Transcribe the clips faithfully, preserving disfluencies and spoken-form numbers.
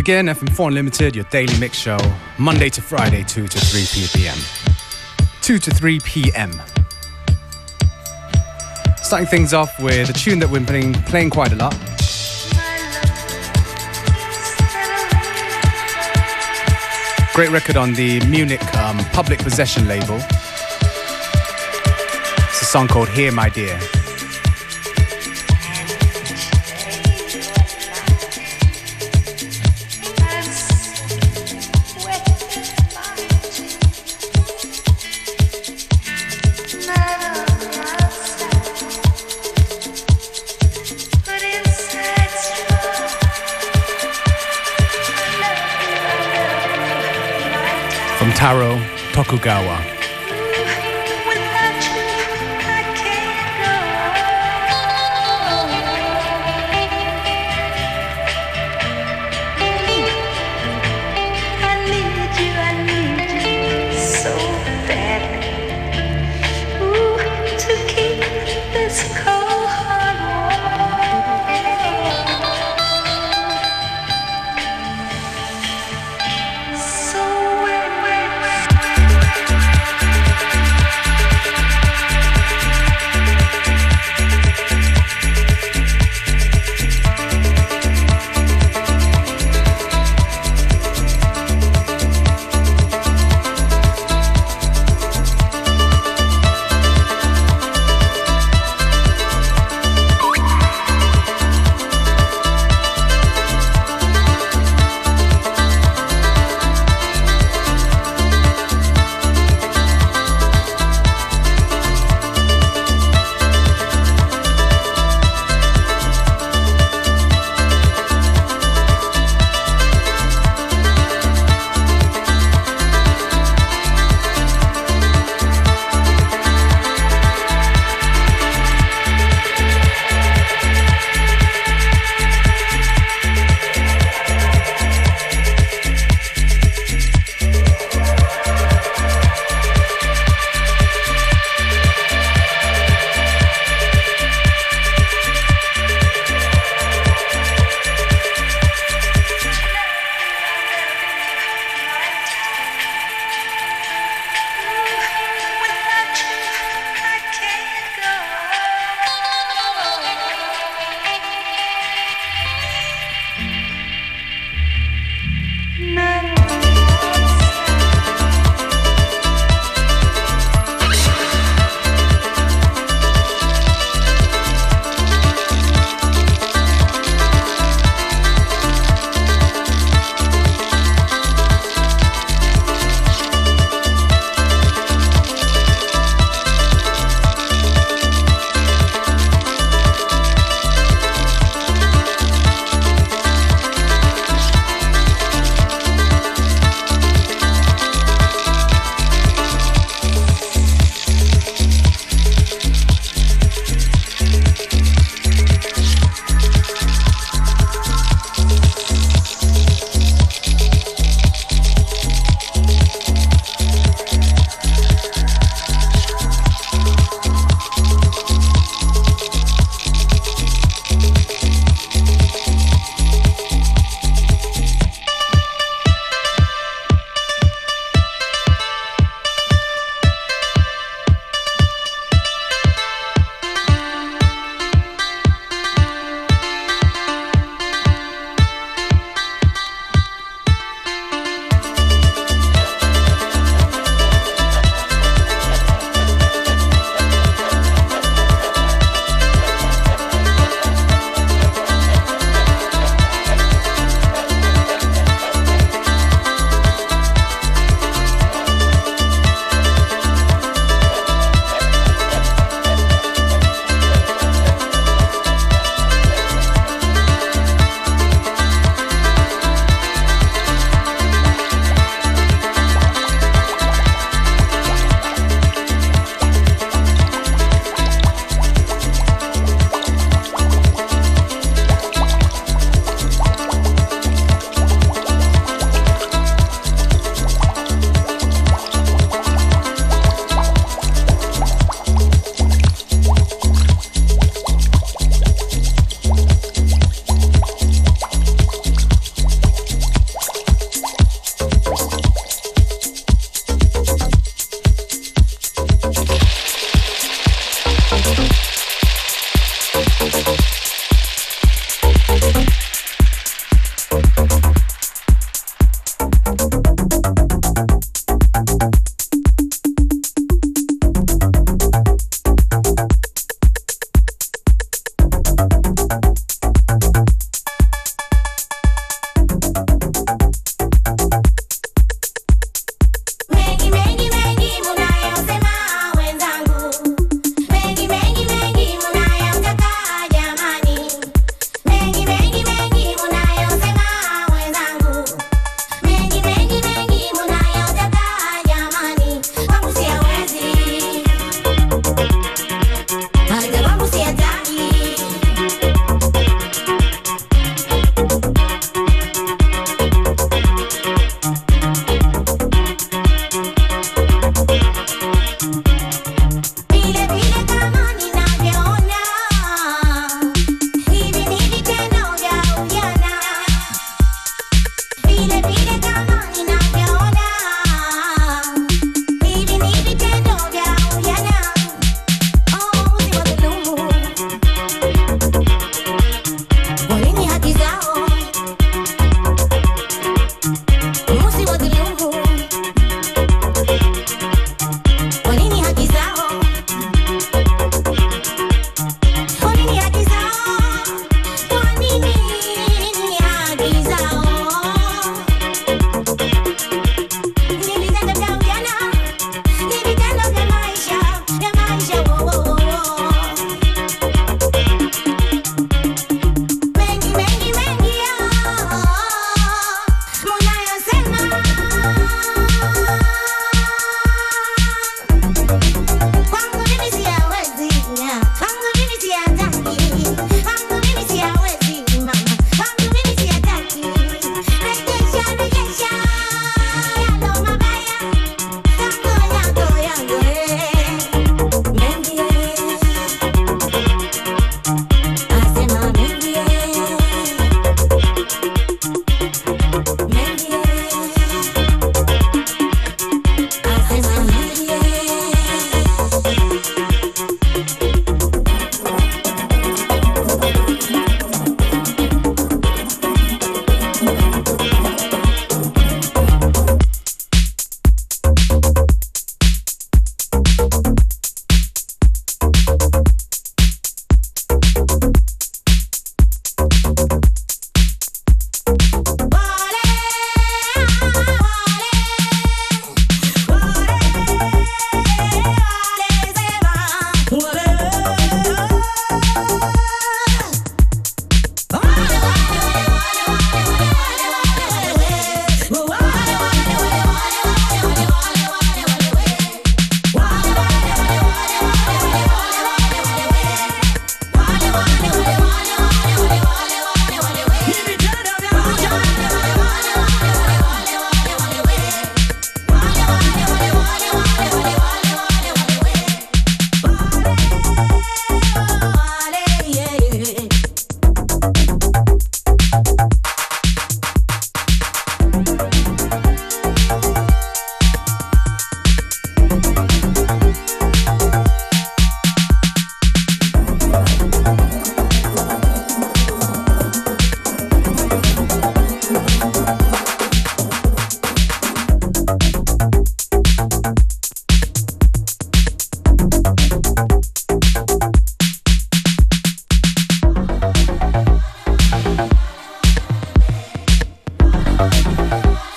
again, F M four Unlimited, your daily mix show, Monday to Friday, two to three p m. two to three p m. Starting things off with a tune that we've been playing, playing quite a lot. Great record on the Munich um, Public Possession label. It's a song called Here My Dear. Taro Tokugawa. We'll be right back.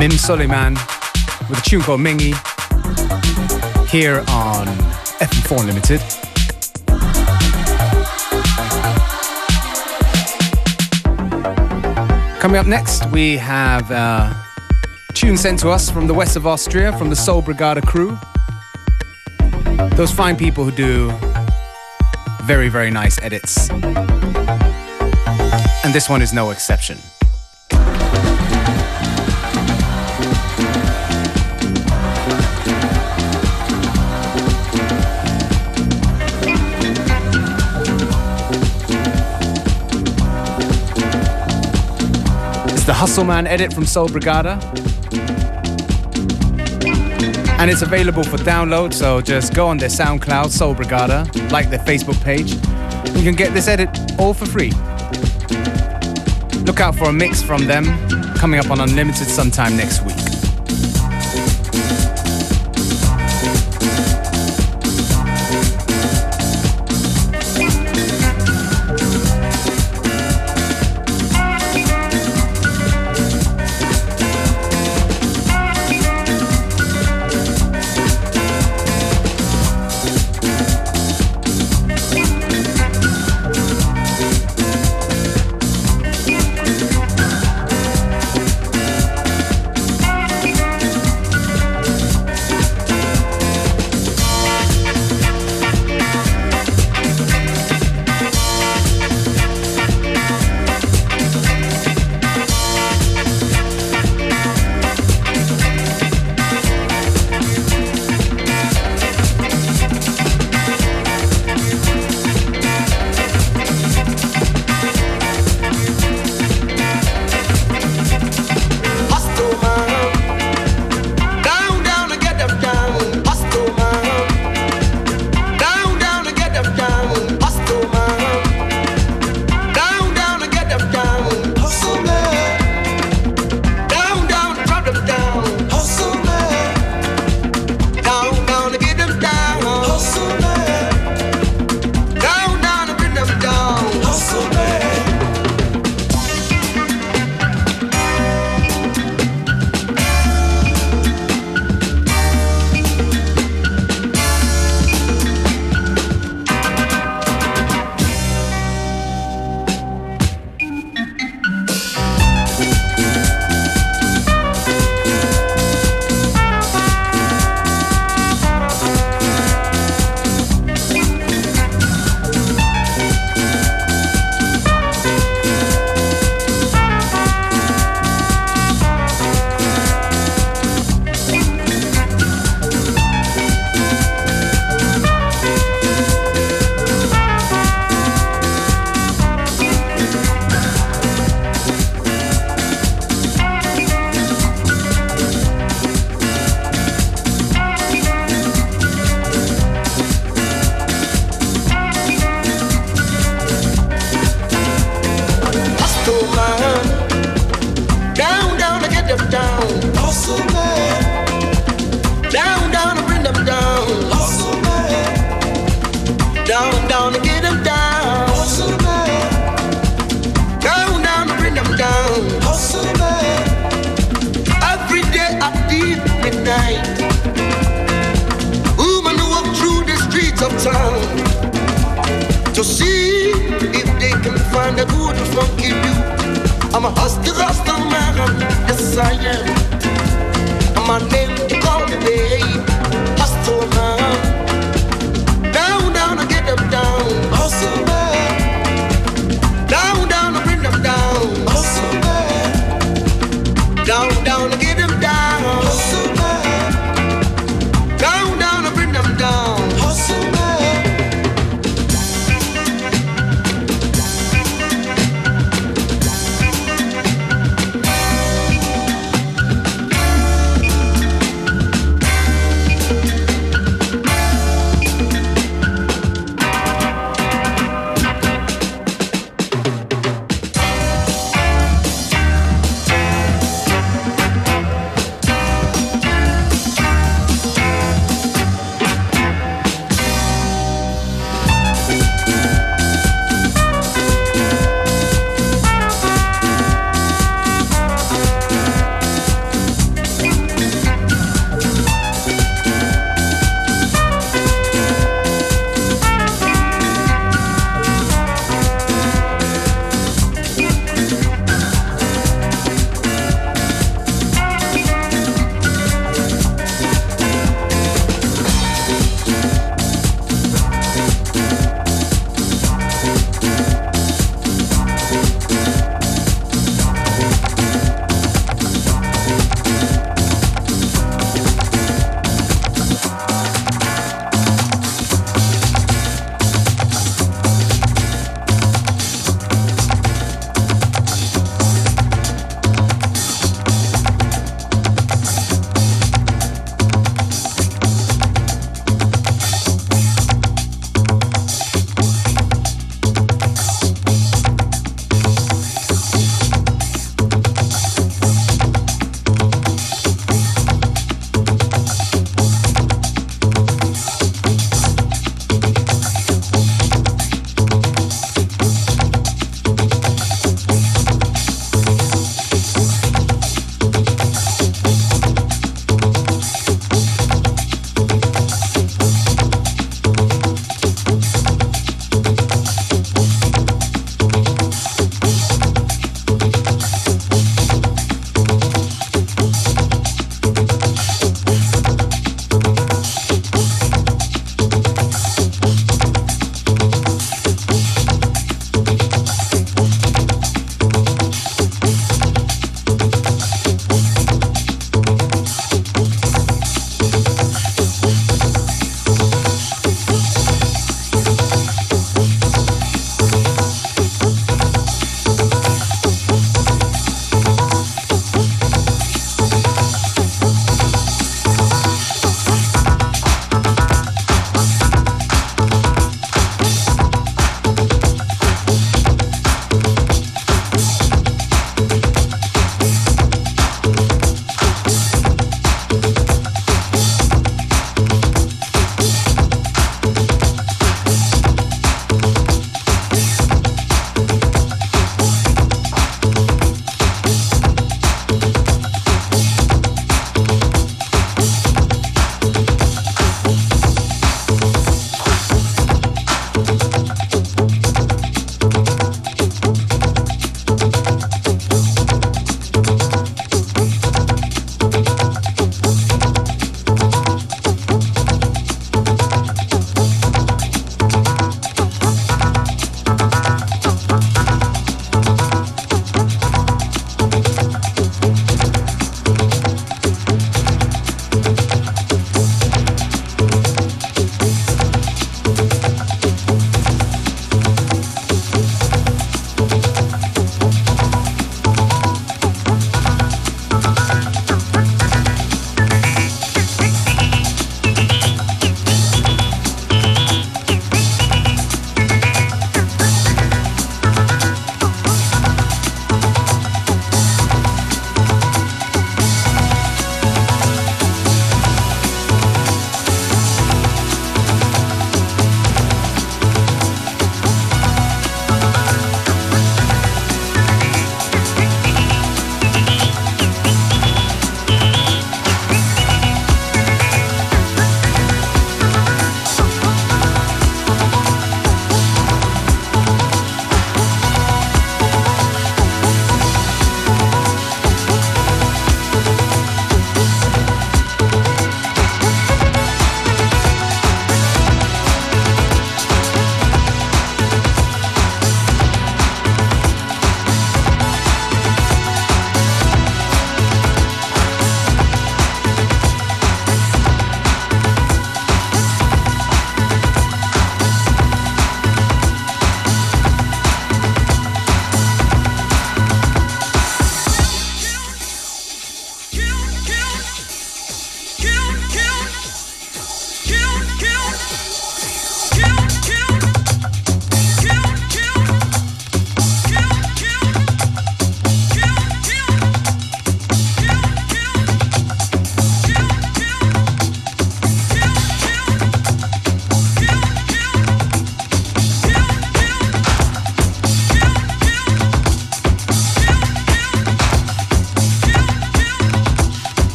Mim Suleiman with a tune called Mingy here on F M four Unlimited. Coming up next, we have a tune sent to us from the west of Austria, from the Soul Brigada crew. Those fine people who do very, very nice edits. And this one is no exception. The Hustle Man edit from Soul Brigada, and it's available for download, so just go on their SoundCloud, Soul Brigada, like their Facebook page. You can get this edit all for free. Look out for a mix from them coming up on Unlimited sometime next week. To see if they can find a good funky you. I'm a hustler, hustler man, yes I am. And my name, they call me babe, hustler man. Down, down, I get them down, hustle man. Down, down, I bring them down, hustle man. Down, down, I get them down, hustle man. Down, down, I bring them down, hustle man.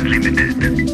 Unlimited.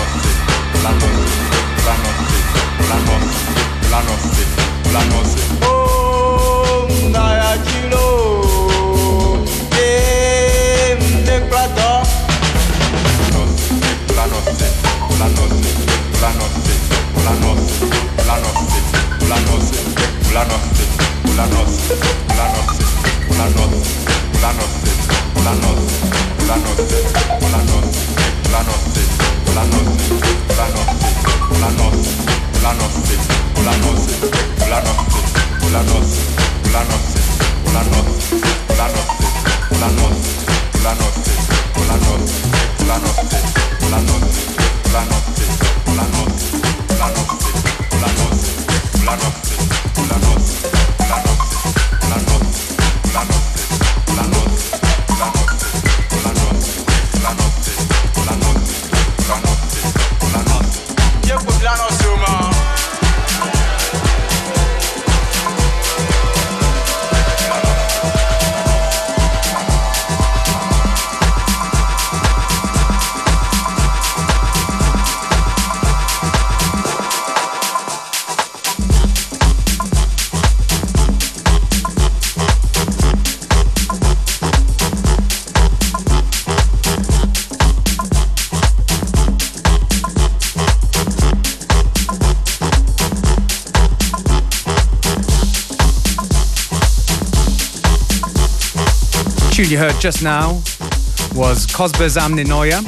Tune you heard just now was Cosbas Amninoia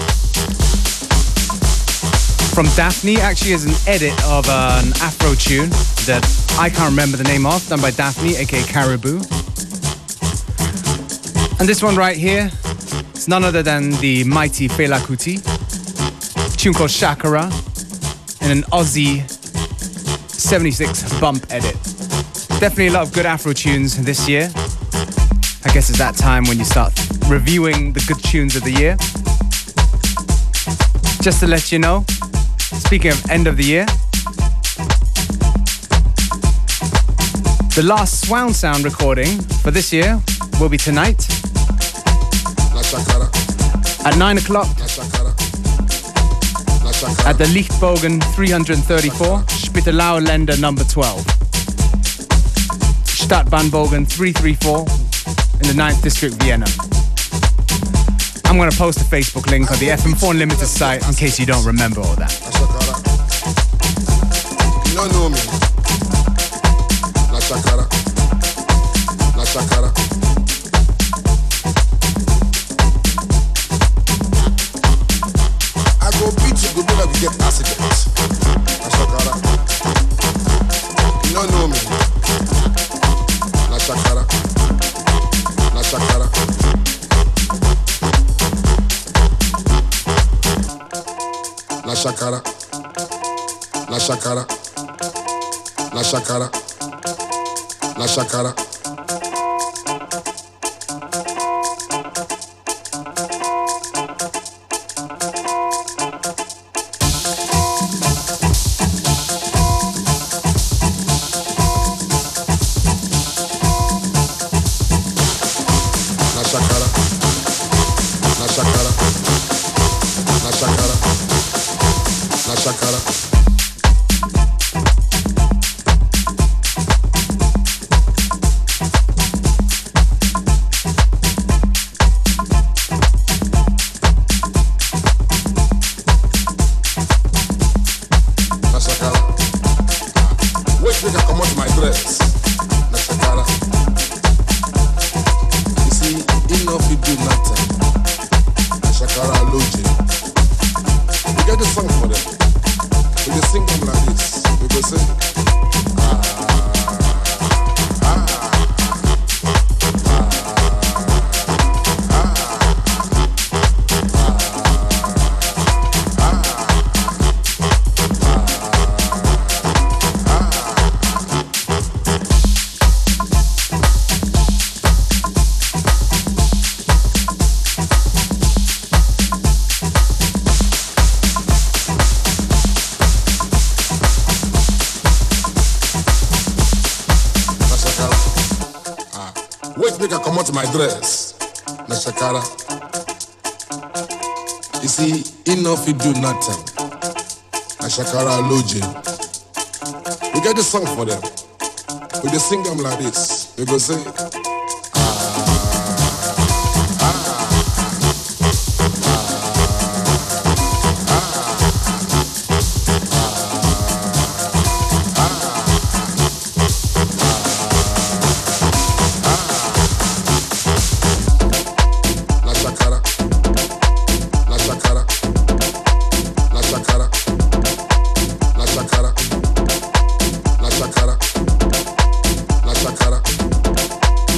from Daphne. Actually is an edit of an Afro tune that I can't remember the name of, done by Daphne, aka Caribou. And this one right here is none other than the mighty Fela Kuti, a tune called Shakara, in an Aussie seventy-six bump edit. Definitely a lot of good Afro tunes this year. I guess it's that time when you start reviewing the good tunes of the year. Just to let you know, speaking of end of the year, the last Swan Sound recording for this year will be tonight at nine o'clock at the Lichtbogen three thirty-four, Spittelau Länder number twelve. Stadtbahnbogen three thirty-four in the ninth District, Vienna. I'm going to post a Facebook link on the F M four Unlimited site in case you don't remember all that. You don't know me. La Shakara. La Shakara. I go beat you, go better we get accident. La Shakara. You don't know me. La Shakara. La Shakara. La Shakara. La Shakara. La Shakara. La Shakara. My dress, La Shakara. You see, enough you do nothing. Shakara Loji. We get the song for them. We just sing them like this. We go say. Shakara,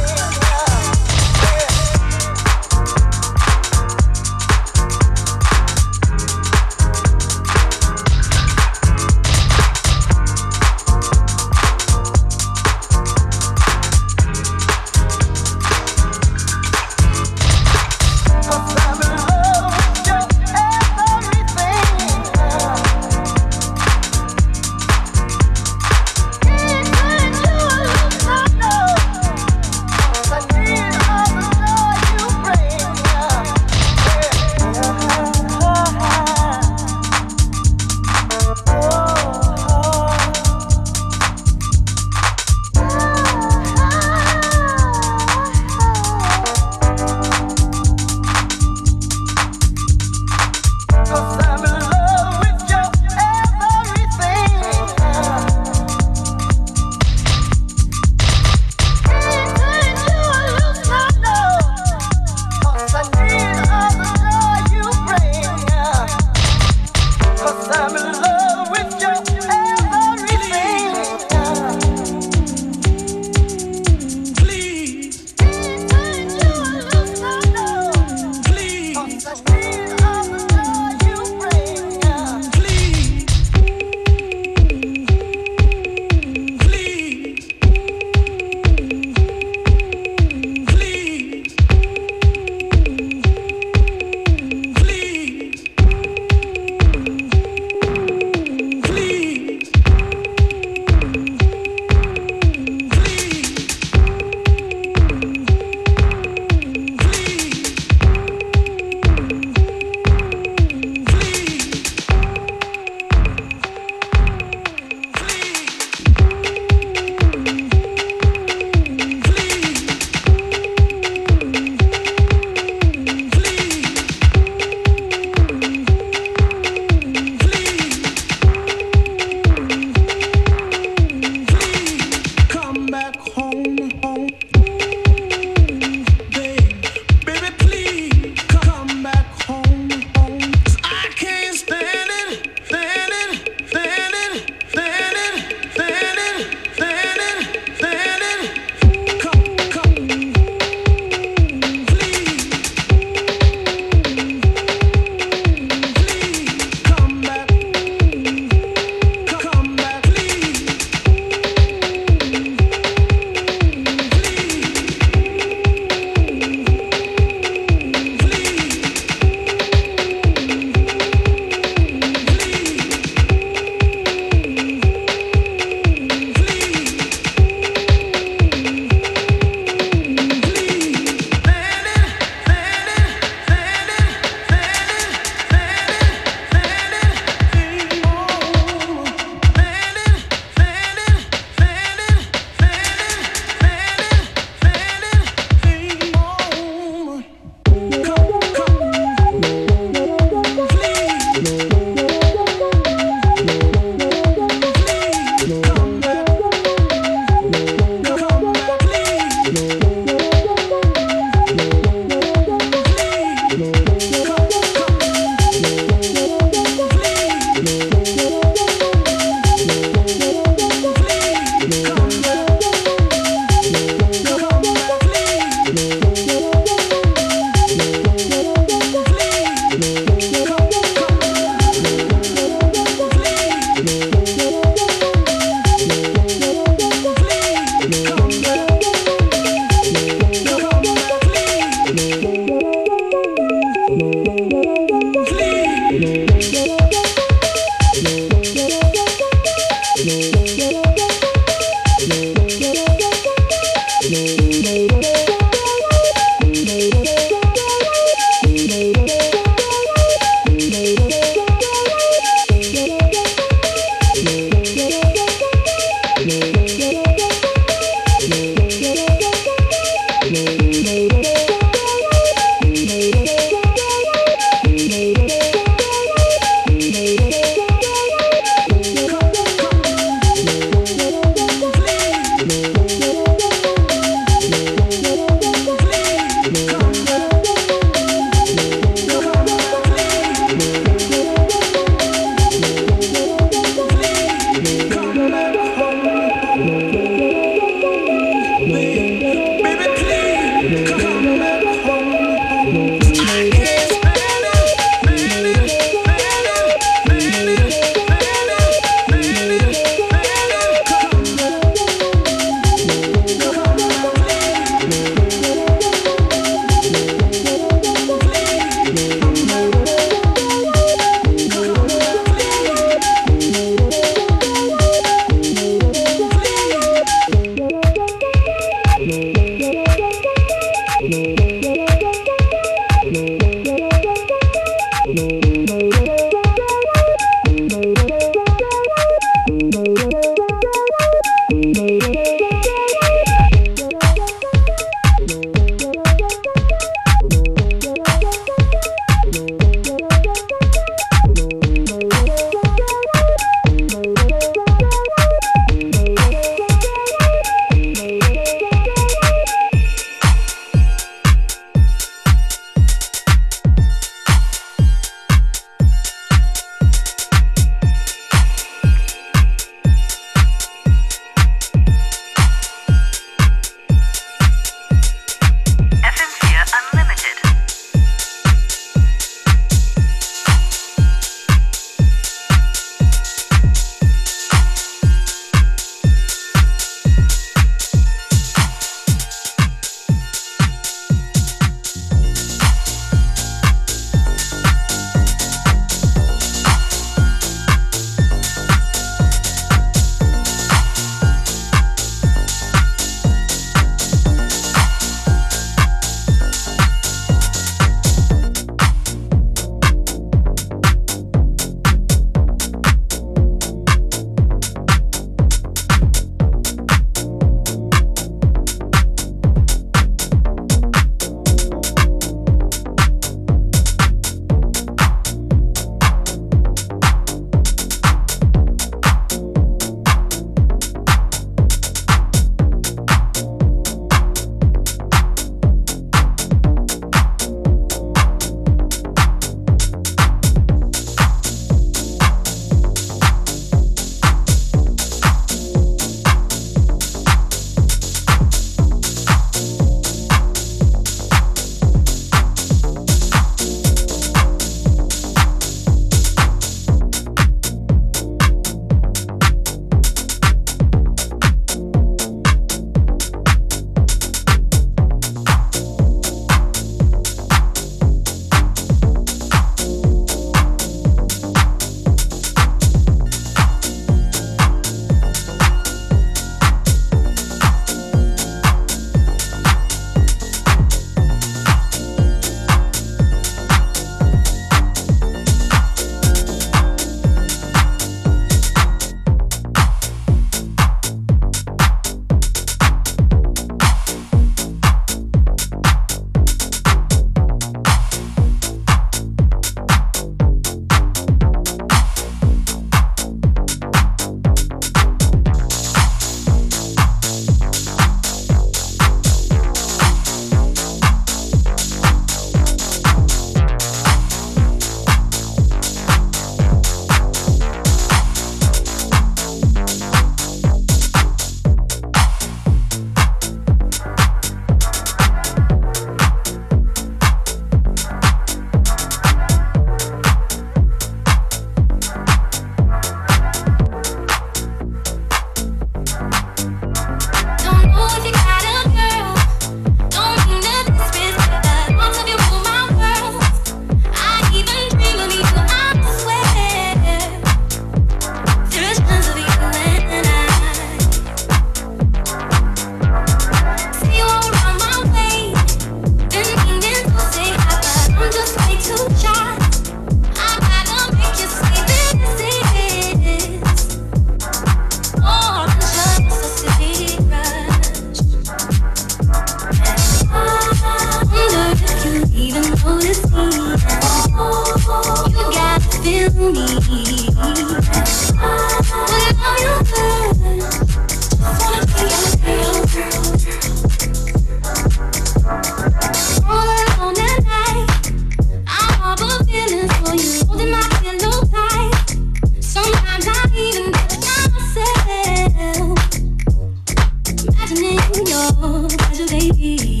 your pleasure, baby.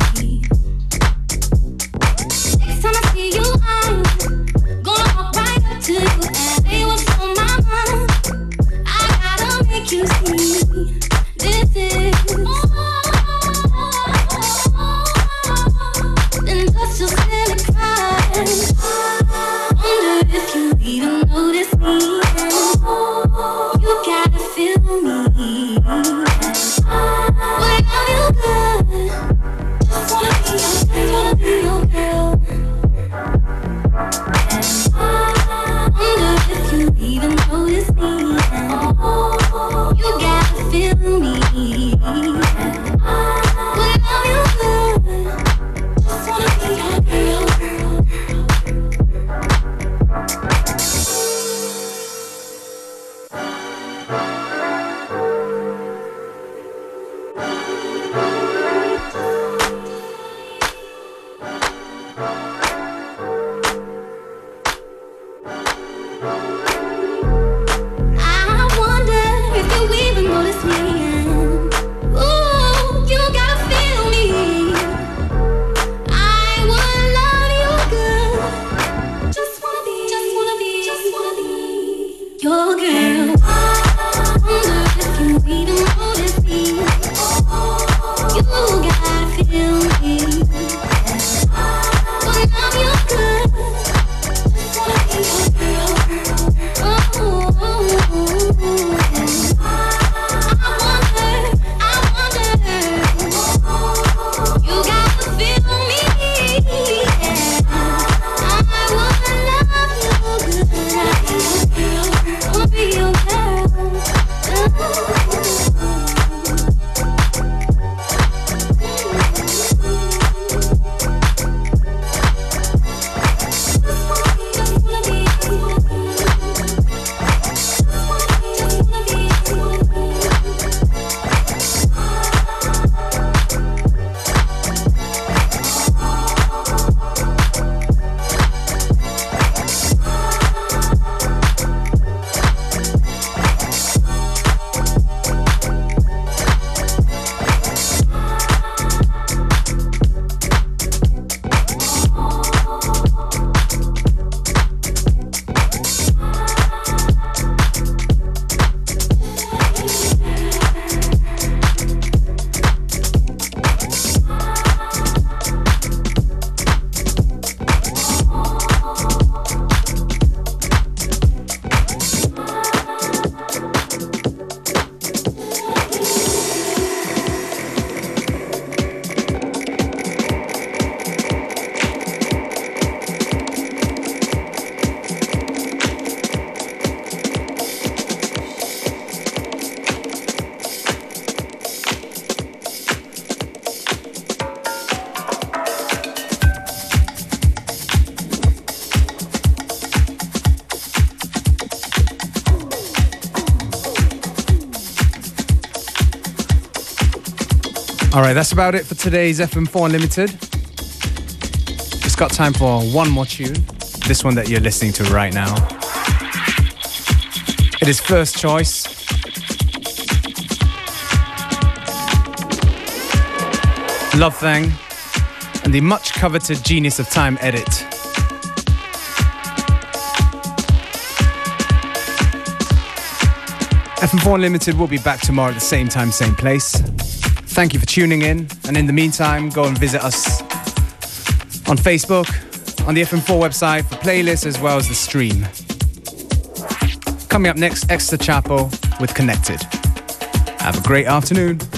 Next time I see you, I'm gonna walk right up to you and say what's on my mind. I gotta make you see this is more than just a silly cry. Wonder if you even notice me. You gotta feel me. Whenever you good, just wanna be your, just wanna be your girl. Wonder if you even notice me. You gotta feel me. Whenever you good, just wanna be your girl. All right, that's about it for today's F M four Unlimited. Just got time for one more tune. This one that you're listening to right now. It is First Choice. Love Thang. And the much coveted Genius of Time edit. F M four Unlimited will be back tomorrow at the same time, same place. Thank you for tuning in. And in the meantime, go and visit us on Facebook, on the F M four website for playlists as well as the stream. Coming up next, Extra Chapo with Connected. Have a great afternoon.